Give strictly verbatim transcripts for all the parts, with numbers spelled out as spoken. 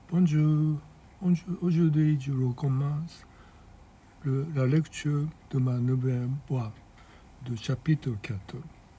Bonjour, aujourd'hui je recommence le, la lecture de ma nouvelle voix de chapitre quatre。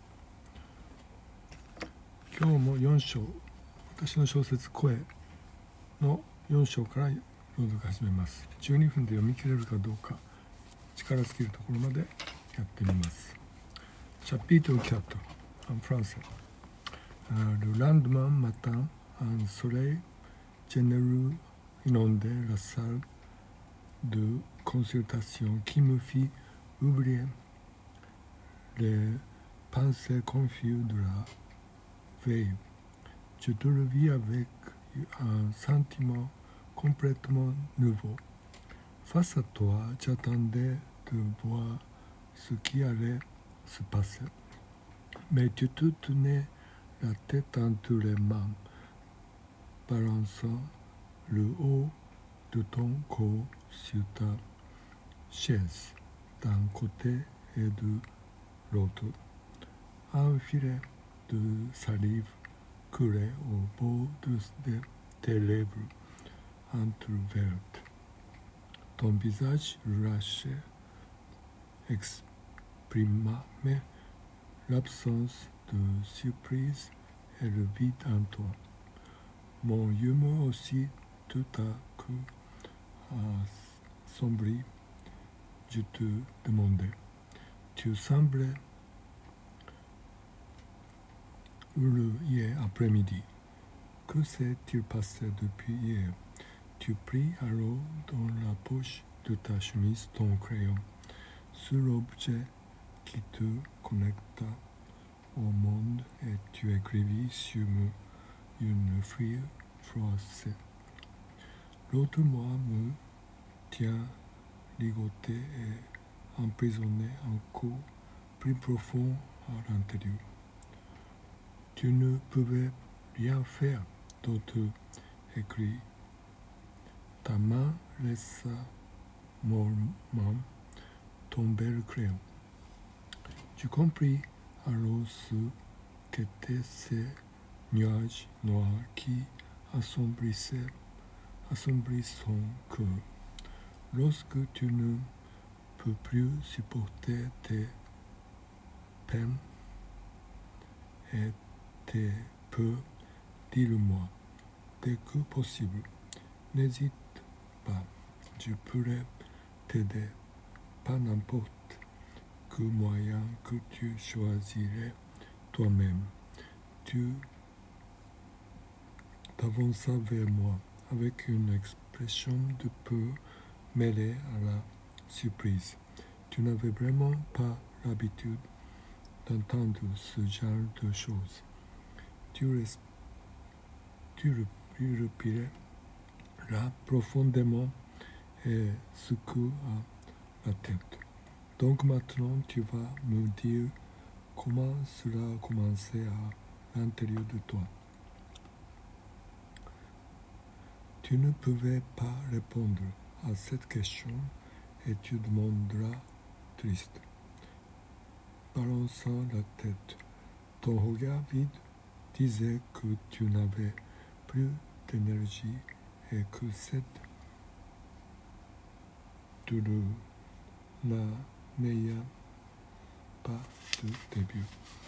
今日もよん章、私の小説声のよん章から朗読始めます。じゅうにふんで読み切れるかどうか力尽きるところまでやってみます。chapitre quatre en français. Le lendemain matin, un soleil généreux inondait la salle de consultation qui me fit oublier les pensées confuses de la veille. Je te le vis avec un sentiment complètement nouveau. Face à toi, j'attendais de voir ce qui allait se passer. Mais tu te tenais la tête entre les mains, balançant le haut de ton corps sur ta chaise, d'un côté et de l'autre. Un filet de salive coulait au bord de tes lèvres entrouvertes. Ton visage relâché exprimait l'absence de surprise et le vide en toi. Mon humeur aussi tout à coup a sombré. Je te demandais, tu semblais heureux hier après-midi. Que s'est-il passé depuis hier? Tu pris alors dans la poche de ta chemise ton crayon, sur l'objet qui te connecta au monde, et tu écrivis sur une feuille froissée. L'autre moi me tient ligoté et emprisonné encore plus profond à l'intérieur. Tu ne pouvais rien faire d'autre, écrit. Ta main laissa mollement tomber le crayon. Tu compris alors ce qu'étaient ces nuages noirs qui assombrissaient, assombrissent son cœur. Lorsque tu ne peux plus supporter tes peines et tes peurs, dis-le-moi dès que possible. N'hésite pas, je pourrais t'aider, pas n'importe quel moyen que tu choisirais toi-même. Tu t'avanças vers moi avec une expression de peur mêlée à la surprise. Tu n'avais vraiment pas l'habitude d'entendre ce genre de choses. Tu, res- tu respirais là profondément et secoues la tête. Donc maintenant tu vas me dire comment cela a commencé à l'intérieur de toi. Tu ne pouvais pas répondre à cette question et tu demanderas triste, balançant la tête. Ton regard vide disait que tu n'avais plus d'énergie et que cette douleur n'amenait pas de début.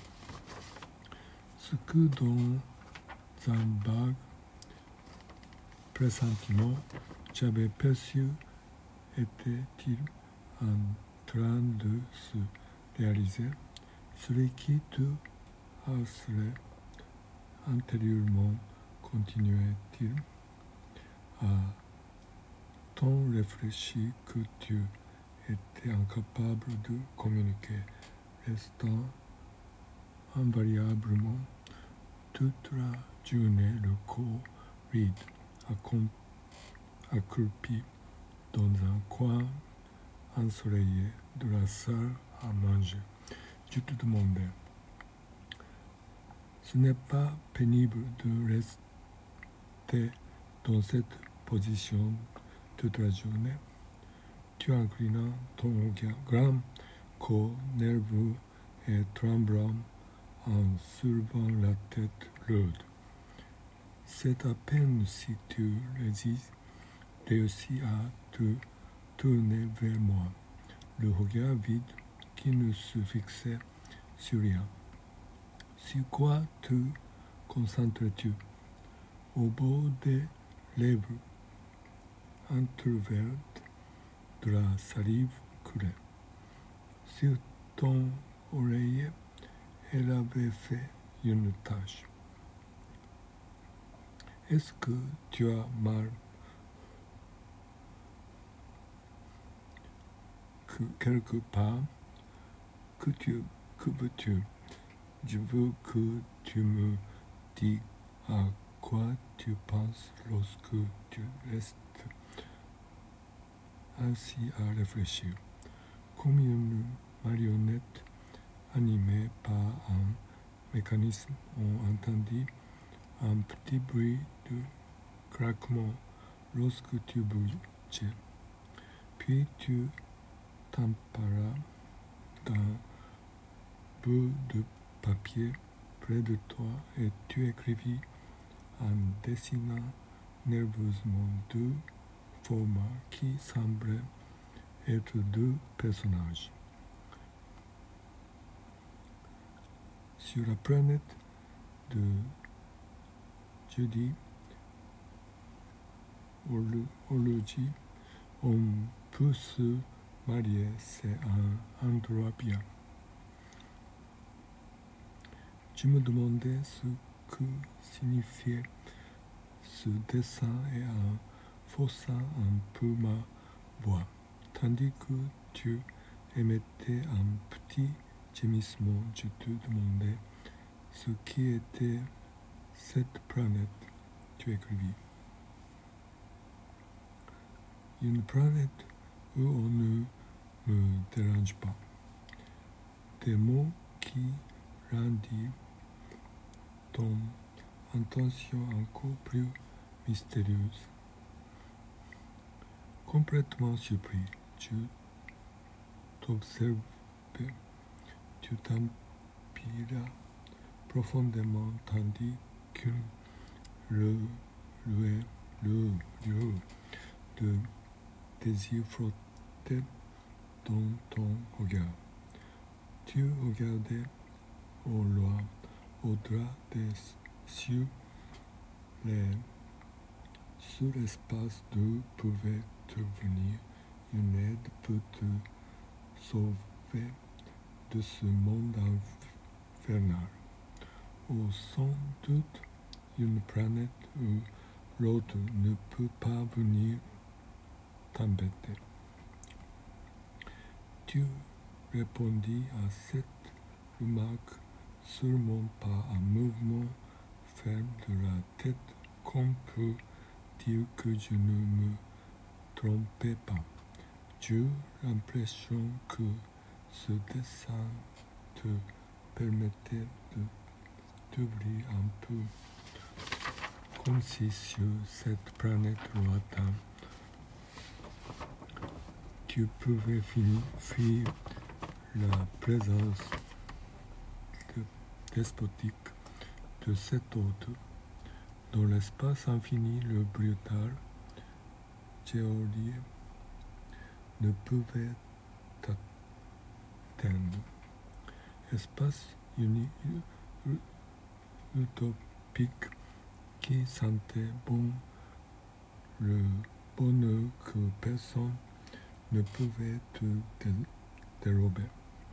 Ce que dans un vague pressentiment j'avais perçu était-il en train de se réaliser? Celui qui te harcelait intérieurement continuait-il à tant réfléchir que tu étais incapable de communiquer, restant invariablement toute la journée le corps vide, accroupi dans un coin ensoleillé de la salle à manger. Je te demandais, ce n'est pas pénible de rester dans cette position toute la journée? Tu inclinas ton grand corps nerveux et tremblant en soulevant la tête lourde. C'est à peine si tu réussis à te tourner vers moi, le regard vide qui ne se fixait sur rien. Sur quoi te concentres-tu? Au bord des lèvres entrouvertes de la salive coulée. Sur ton oreiller, elle avait fait une tache. Est-ce que tu as mal que quelque part? Que, tu, que veux-tu? Je veux que tu me dises à quoi tu penses lorsque tu restes ainsi à réfléchir, comme une marionnette animée par un mécanisme. On entendit un petit bruit de craquement lorsque tu bougeais. Puis tu t'emparas d'un bout de papier près de toi et tu écrivis en dessinant nerveusement deux formats qui semblaient être deux personnages. Sur la planète de Judy Ology, on peut se marier, c'est un endroit bien. Je me demandais ce que signifiait ce dessin et en forçant un peu ma voix, tandis que tu émettais un petit gémissement, je te demandais ce qui était cette planète. Tu écrivis. Une planète où on ne me dérange pas. Des mots qui rendirent ton intention encore plus mystérieuse. Complètement surpris, tu t'observais, tu t'empiras profondément tandis qu'une ruée de désir flottait dans ton regard. Tu regardais au loin, au-delà des cieux, les sur l'espace d'eux pouvait te venir une aide peut te sauver de ce monde infernal. Ou sans doute une planète où l'autre ne peut pas venir t'embêter. Tu répondis à cette remarque seulement par un mouvement ferme de la tête qu'on peut dire que je ne me trompais pas. J'ai l'impression que ce dessin te permettait de t'ouvrir un peu, comme si sur cette planète lointaine, tu pouvais fuir la présence de despotique de cet autre. Dans l'espace infini, le brutal géolier ne pouvait t'atteindre. Espace uni, utopique qui sentait bon le bonheur que personne ne pouvait te dérober.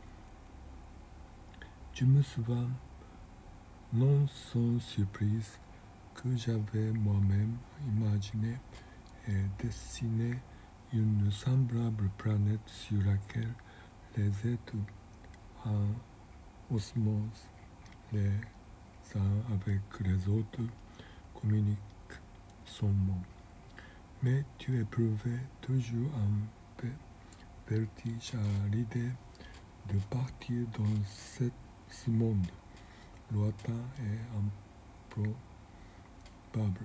Je me souviens, non sans surprise, que j'avais moi-même imaginé et dessiné une semblable planète sur laquelle les êtres en osmose les uns avec les autres communiquent son mot. Mais tu éprouvais toujours un vertige à l'idée de partir dans cette, ce monde lointain et improbable.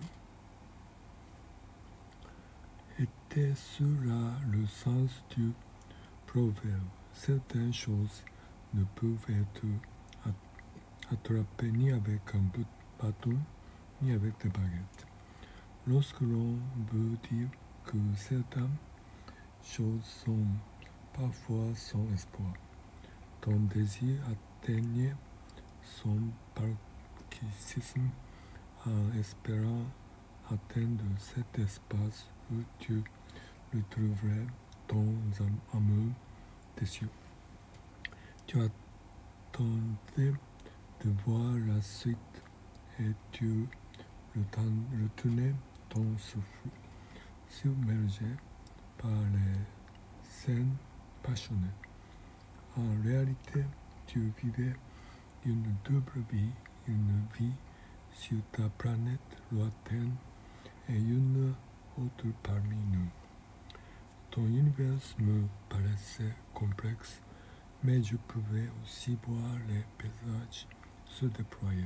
Était-ce là le sens du proverbe? Certaines choses ne peuvent être attrapées ni avec un bâton, ni avec des baguettes. Lorsque l'on veut dire que certaines choses sont parfois sans espoir, ton désir atteignait son paroxysme en espérant atteindre cet espace où tu le trouverais ton amour déçu. Tu attendais de voir la suite et tu retenais ton souffle, submergé par les scènes passionnées. En réalité, tu vivais une double vie, une vie sur ta planète lointaine et une autre parmi nous. Ton univers me paraissait complexe, mais je pouvais aussi voir les paysages se déployer.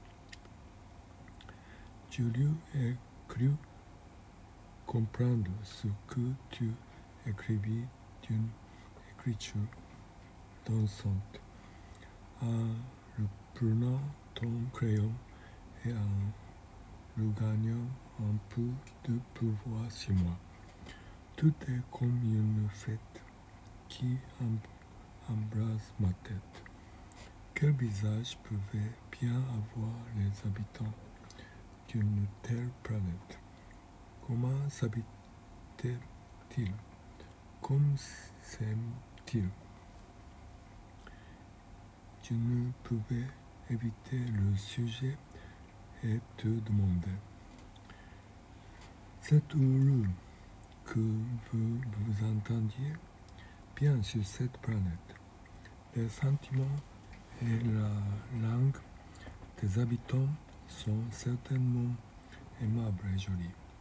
Je lui ai cru comprendre ce que tu écrivis d'une écriture dansante, en reprenant ton crayon et en regagnant un peu de pouvoir sur moi. Tout est comme une fête qui embrasse ma tête. Quel visage pouvait bien avoir les habitants d'une telle planète? Comment s'habitaient-ils? Comment s'aiment-ils? Je ne pouvais éviter le sujet et te demander. C'est heureux que vous vous entendiez bien sur cette planète. Les sentiments et la langue des habitants sont certainement aimables et jolis.